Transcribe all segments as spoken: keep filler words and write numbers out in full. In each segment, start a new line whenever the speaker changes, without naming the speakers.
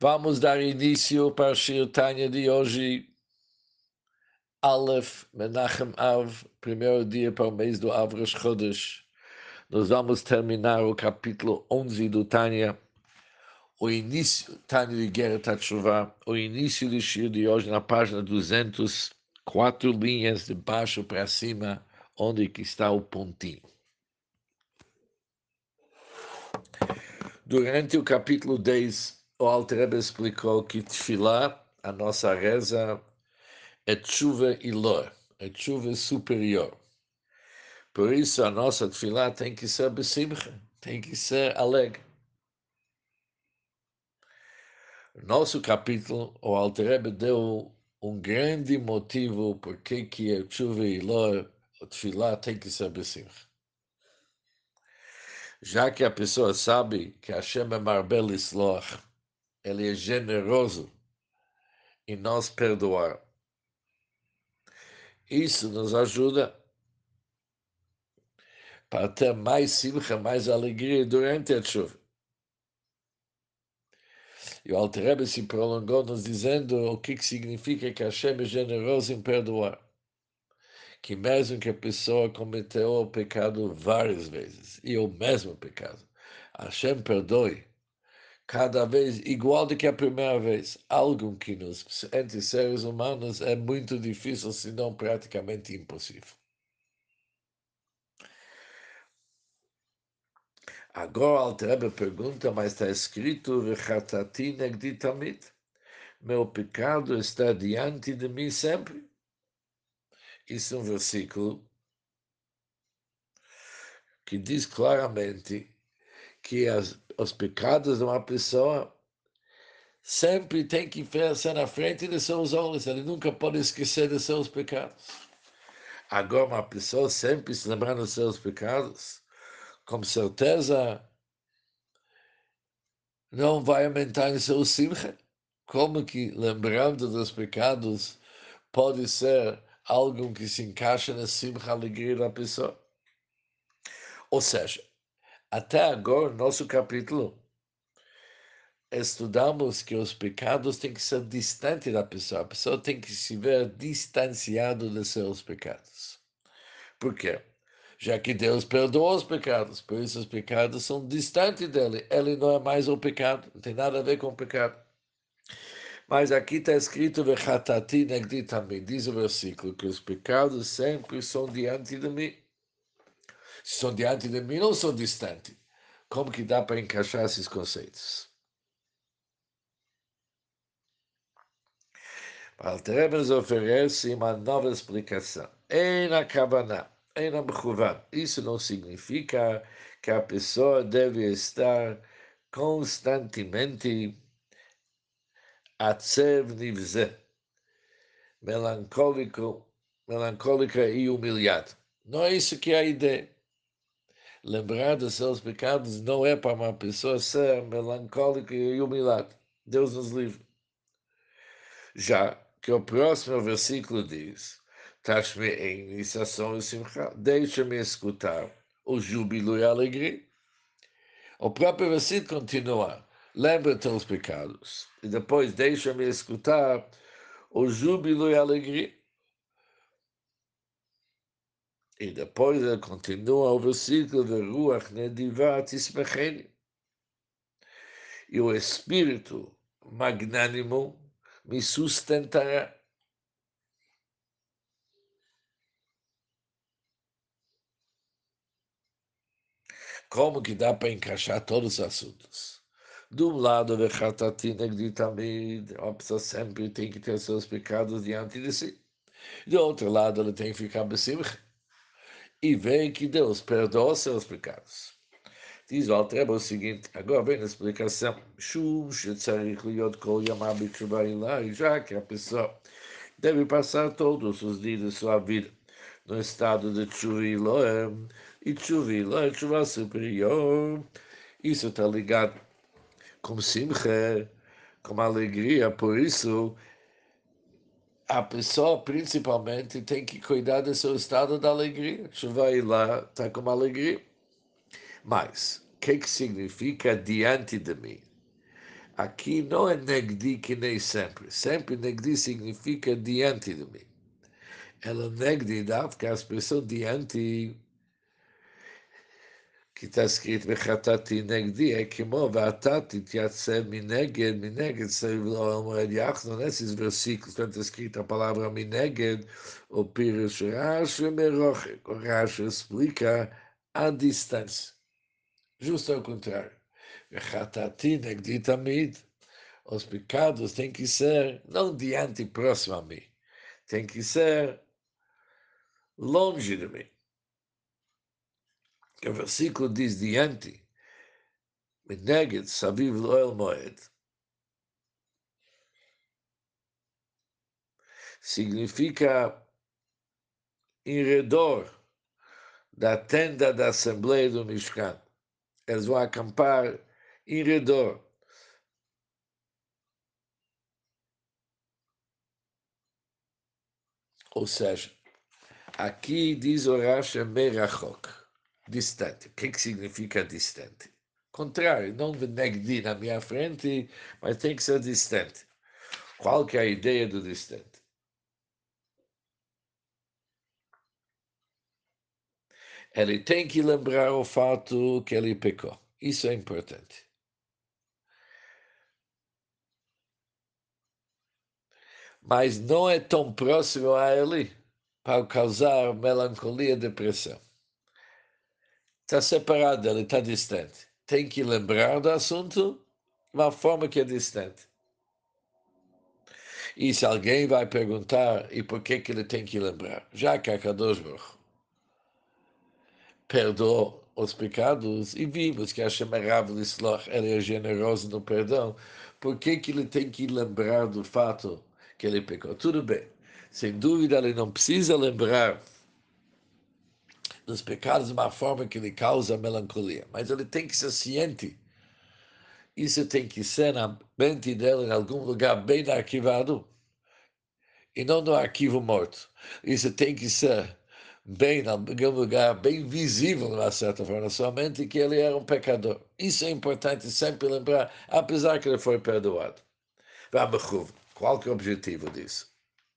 Vamos dar início para a Shir Tanya de hoje, Aleph Menachem Av, primeiro dia para o mês do Av Rosh Chodesh. Nós vamos terminar o capítulo onze do Tanya, o início, Tanya de Geret HaTshuvah, o início do Shir de hoje na página duzentos, quatro linhas de baixo para cima, onde que está o pontinho. Durante o capítulo dez, o Alter Rebbe explicou que Tefilá, a nossa reza, é chuva ilor, é chuva superior. Por isso a nossa tefilá tem que ser besimcha, tem que ser alegre. Nosso capítulo, o Alter Rebbe deu um grande motivo por que que é chuva ilor, a tefilá tem que ser besimcha. Já que a pessoa sabe que Hashem é marbel isloch, ele é generoso em nos perdoar. Isso nos ajuda para ter mais simcha, mais alegria durante a chuva. E o Alter Rebbe se prolongou nos dizendo o que, que significa que Hashem é generoso em perdoar. Que mesmo que a pessoa cometeu o pecado várias vezes, e o mesmo pecado, Hashem perdoe cada vez igual do que a primeira vez. Algo que nos, entre seres humanos, é muito difícil, se não praticamente impossível. Agora o Alter Rebbe pergunta, mas está escrito V'chatati negdi tamid. Meu pecado está diante de mim sempre. Isso é um versículo que diz claramente que as, os pecados de uma pessoa sempre tem que ser na frente de seus olhos. Ele nunca pode esquecer de seus pecados. Agora, uma pessoa sempre se lembrando dos seus pecados, com certeza não vai aumentar em seu simcha. Como que lembrando dos pecados pode ser algo que se encaixa na simcha, alegria da pessoa? Ou seja, até agora, no nosso capítulo, estudamos que os pecados têm que ser distantes da pessoa. A pessoa tem que se ver distanciado de seus pecados. Por quê? Já que Deus perdoou os pecados, por isso os pecados são distantes dele. Ele não é mais o pecado, não tem nada a ver com o pecado. Mas aqui está escrito, V'chatati negdi também, diz o versículo, que os pecados sempre são diante de mim. Se são diante de mim, não são distantes. Como que dá para encaixar esses conceitos? Alter Rebbe nos oferece uma nova explicação. Em a Kavaná, em a Mechuvan. Isso não significa que a pessoa deve estar constantemente atzev nivze, melancólico, melancólica e humilhado. Não é isso que é a ideia. Lembrar dos seus pecados não é para uma pessoa ser melancólica e humilhada. Deus nos livre. Já que o próximo versículo diz, Tashme em iniciação e simcha, deixa-me escutar o júbilo e a alegria. O próprio versículo continua, lembra teus pecados, e depois deixa-me escutar o júbilo e a alegria. E depois ele continua o versículo de Ruach Nedivat Ismecheni. E o Espírito magnânimo me sustentará. Como que dá para encaixar todos os assuntos? De um lado, a pessoa sempre tem que ter seus pecados diante de si. Do outro lado, ele tem que ficar besimcha e ver que Deus perdoa seus pecados. Diz o Alter Rebbe o seguinte, agora vem a explicação. Shum shetzarich liot kol yamav b'tshuva ilai, já que a pessoa deve passar todos os dias de sua vida no estado de tshuva ilai, e tshuva ilai, tshuva superior. Isso está ligado com simcha, com alegria, por isso a pessoa principalmente tem que cuidar do seu estado de alegria. Tshuva ilai está com alegria. Mas, o que, que significa diante de mim? Aqui não é negdi que nem sempre. Sempre negdi significa diante de mim. Ela negdi dá, porque a expressão diante que está escrito וחטאתי נגדי, é כמו ואתה תתייצב מנגד, מנגד סביב לעולם יחד, nesses versículos, quando está escrito a palavra מנגד, o Pirish Rashi merochet, o Rashi explica a distância. Justo ao contrário. וחטאתי נגדי תמיד. Os pecados têm que ser não diante e próximo a mim, tem que ser longe de mim. O versículo diz diante, מנגד סביב לאוהל מועד, significa em redor da tenda da Assembleia do Mishkan. Eles vão acampar em redor. Ou seja, aqui diz o Rashi merachok, distante. O que, que significa distante? Contrário, não de negdi na minha frente, mas tem que ser distante. Qual que é a ideia do distante? Ele tem que lembrar o fato que ele pecou. Isso é importante. Mas não é tão próximo a ele para causar melancolia e depressão. Está separado, ele está distante. Tem que lembrar do assunto de uma forma que é distante. E se alguém vai perguntar, e por que, que ele tem que lembrar? Já que a Kadosh Baruch perdoou os pecados, e vimos que Hashem é Rav Lisloch, ele é generoso no perdão, por que, que ele tem que lembrar do fato que ele pecou? Tudo bem. Sem dúvida, ele não precisa lembrar dos pecados de uma forma que lhe causa melancolia, mas ele tem que ser ciente. Isso tem que ser na mente dele, em algum lugar bem arquivado, e não no arquivo morto. Isso tem que ser bem, em algum lugar bem visível, de uma certa forma, na sua mente, que ele era um pecador. Isso é importante sempre lembrar, apesar que ele foi perdoado. Qual que é o objetivo disso?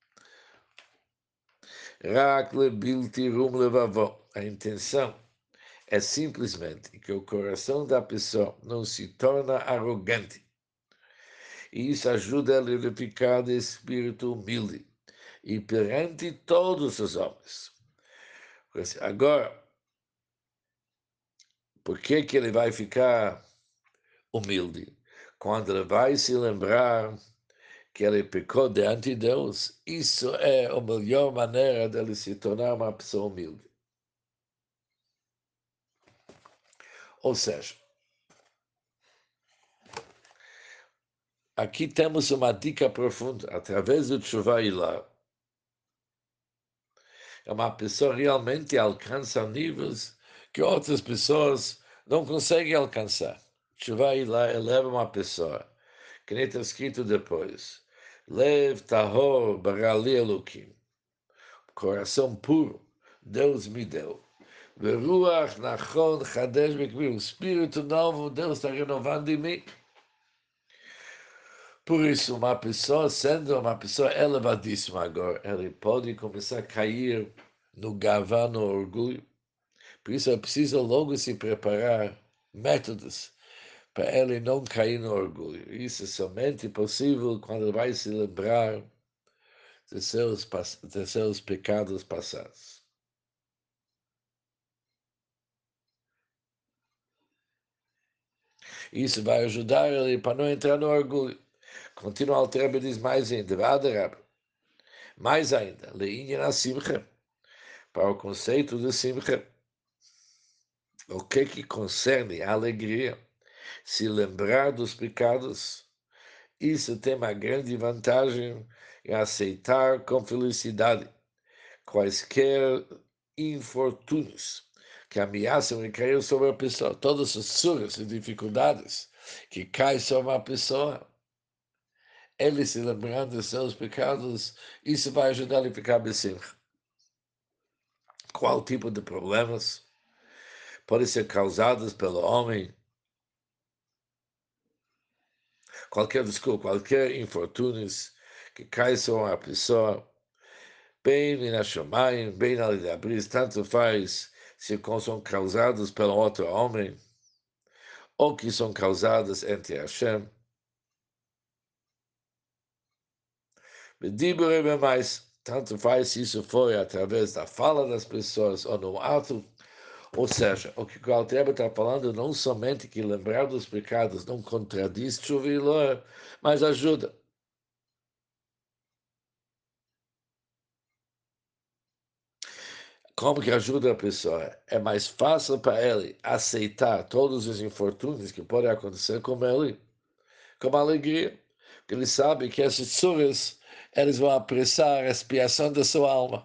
Rakle bilti rum levavó. A intenção é simplesmente que o coração da pessoa não se torna arrogante. E isso ajuda a ele a ficar de espírito humilde e perante todos os homens. Agora, por que, que ele vai ficar humilde? Quando ele vai se lembrar que ele pecou diante de Deus, isso é a melhor maneira dele se tornar uma pessoa humilde. Ou seja, aqui temos uma dica profunda, através do Tshuva Ilah. É uma pessoa realmente alcança níveis que outras pessoas não conseguem alcançar. Tshuva Ilah eleva uma pessoa, que nem está escrito depois. Lev tahor barali elokim. Coração puro, Deus me deu. Veruach nachon chadesh bekmir. O espírito novo, Deus está renovando em mim. Por isso, uma pessoa, sendo uma pessoa elevadíssima agora, ele pode começar a cair no gavão, no orgulho. Por isso, é preciso logo se preparar métodos para ele não cair no orgulho. Isso é somente possível quando ele vai se lembrar de seus, de seus pecados passados. Isso vai ajudar ele para não entrar no orgulho. Continua o Rebbe diz mais ainda, mais ainda, leinha simcha, para o conceito de simcha, o que que concerne a alegria, se lembrar dos pecados, isso tem uma grande vantagem em aceitar com felicidade quaisquer infortúnios que ameaçam e cair sobre a pessoa, todas as suas e dificuldades que caem sobre a pessoa. Ele se lembrando de seus pecados, isso vai ajudar ele a ficar bem. Qual tipo de problemas podem ser causados pelo homem qualquer, desculpa, qualquer infortúnios que cai sobre a pessoa, bem na Shamayim, bem na Lidabris, tanto faz se são causados pelo outro homem, ou que são causadas entre Hashem. Medibure mais, tanto faz se isso foi através da fala das pessoas ou no ato. Ou seja, o que o Altreba está falando não somente que lembrar dos pecados não contradiz chuvilor, mas ajuda. Como que ajuda a pessoa? É mais fácil para ele aceitar todos os infortúnios que podem acontecer com ele, com alegria, porque ele sabe que esses tsuras, eles vão apressar a expiação da sua alma.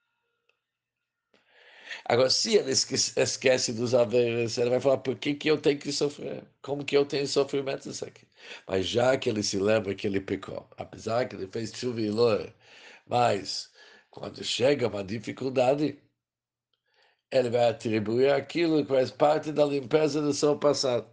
Agora, se ele esquece, esquece dos haveres, ele vai falar, por que, que eu tenho que sofrer? Como que eu tenho sofrimentos aqui? Mas já que ele se lembra que ele pecou, apesar que ele fez chuva e lor, mas quando chega uma dificuldade, ele vai atribuir aquilo que faz parte da limpeza do seu passado.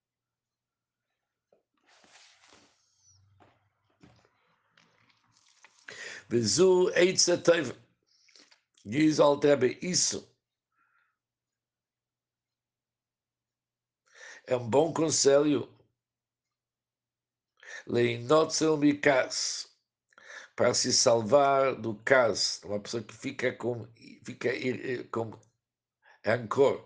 Vizu Eitzetov, diz ao Tebe, isso é um bom conselho, leinotzel mikas, para se salvar do caso, uma pessoa que fica com, fica com rancor,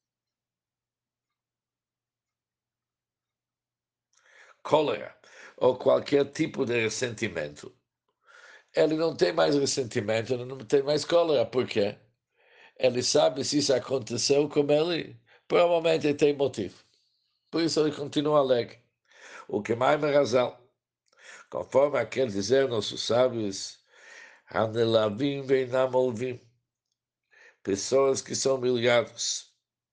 cólera ou qualquer tipo de ressentimento. Ele não tem mais ressentimento, ele não tem mais cólera. Por quê? Ele sabe se isso aconteceu com ele, provavelmente tem motivo. Por isso ele continua alegre. O que mais me razão, conforme quer dizer nossos sábios, Hanelavim veinamolvim, pessoas que são humilhados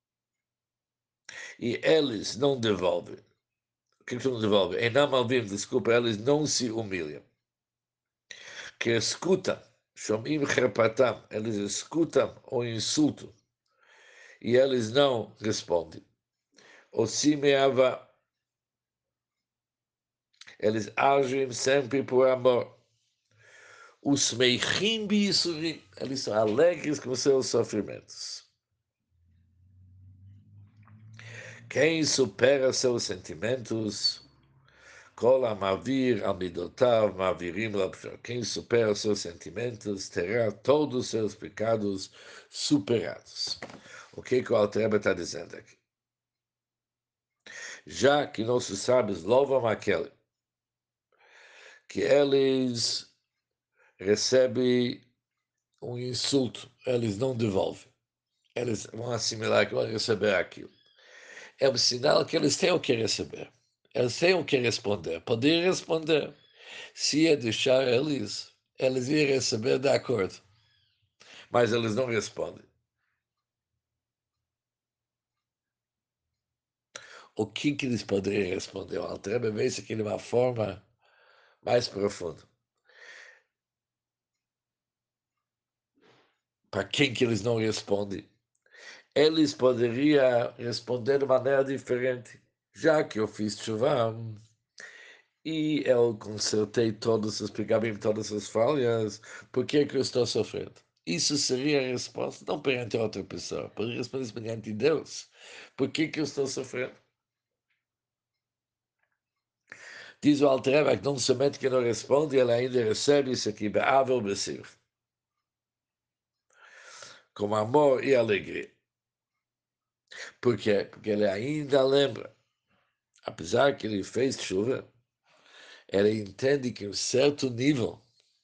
e eles não devolvem. O que, que não devolvem? Einamalvim, desculpa, eles não se humilham. Que escutam, Shomim Herpatam, eles escutam o insulto e eles não respondem. O Simeava, eles agem sempre por amor. Os Meichim Bisurim, eles são alegres com seus sofrimentos. Quem supera seus sentimentos, Kol Amavir Amidotav Mavirim Labshor. Quem supera seus sentimentos terá todos os seus pecados superados. O que, que o Altreba está dizendo aqui? Já que nossos sábios louvam aquele que eles recebem um insulto, eles não devolvem. Eles vão assimilar que vão receber aquilo. É um sinal que eles têm o que receber. Eles têm o que responder. Poder responder. Se é deixar eles, eles iam receber de acordo. Mas eles não respondem. O que, que eles poderiam responder? O Altrebe vê isso aqui de uma forma mais profunda. Para quem que eles não respondem? Eles poderiam responder de maneira diferente. Já que eu fiz chuva e eu consertei todos os pegabim, todas as falhas, por que, que eu estou sofrendo? Isso seria a resposta, não perante outra pessoa, poderia responder isso perante Deus. Por que, que eu estou sofrendo? Diz o Alter que não somente que não responde, ele ainda recebe isso aqui, be'avel besir, com amor e alegria. Por quê? Porque ele ainda lembra, apesar que ele fez chuva, ele entende que em um certo nível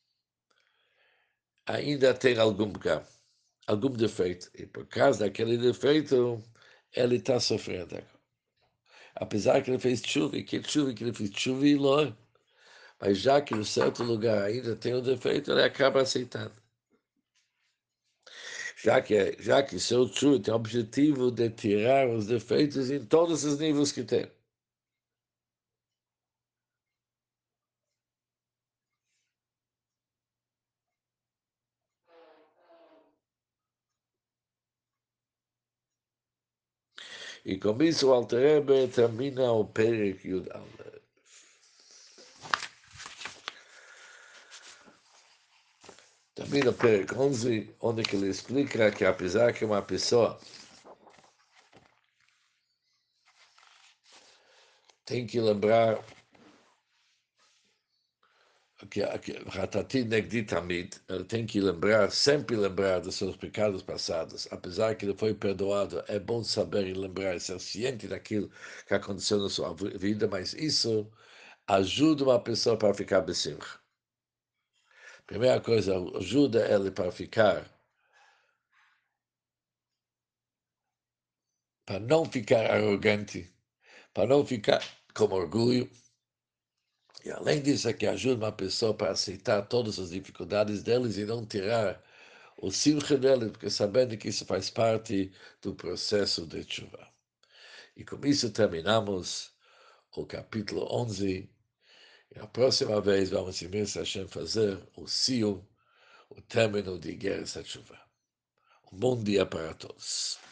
ainda tem algum pecado, algum defeito. E por causa daquele defeito, ele está sofrendo. Apesar que ele fez chuva, e que chuva que ele fez chuva e ló, mas já que em um certo lugar ainda tem um defeito, ele acaba aceitando. Já que, já que seu chuva tem o objetivo de tirar os defeitos em todos os níveis que tem. E com isso o Alter Rebbe termina o Perek Yud Aleph. Também no Perec onze, onde que ele explica que apesar que uma pessoa tem que lembrar que Ratati Negdi Tamid, ele tem que lembrar, sempre lembrar dos seus pecados passados, apesar que ele foi perdoado, é bom saber e lembrar, ser ciente daquilo que aconteceu na sua vida, mas isso ajuda uma pessoa para ficar besimcha. Primeira coisa, ajuda ele para ficar, para não ficar arrogante, para não ficar com orgulho. E além disso, é que ajuda uma pessoa para aceitar todas as dificuldades deles e não tirar o simcha dele, porque sabendo que isso faz parte do processo de chuva. E com isso terminamos o capítulo onze. E a próxima vez vamos, imenso Hashem, fazer o cio, o término de Guerra Chuva. Um bom dia para todos.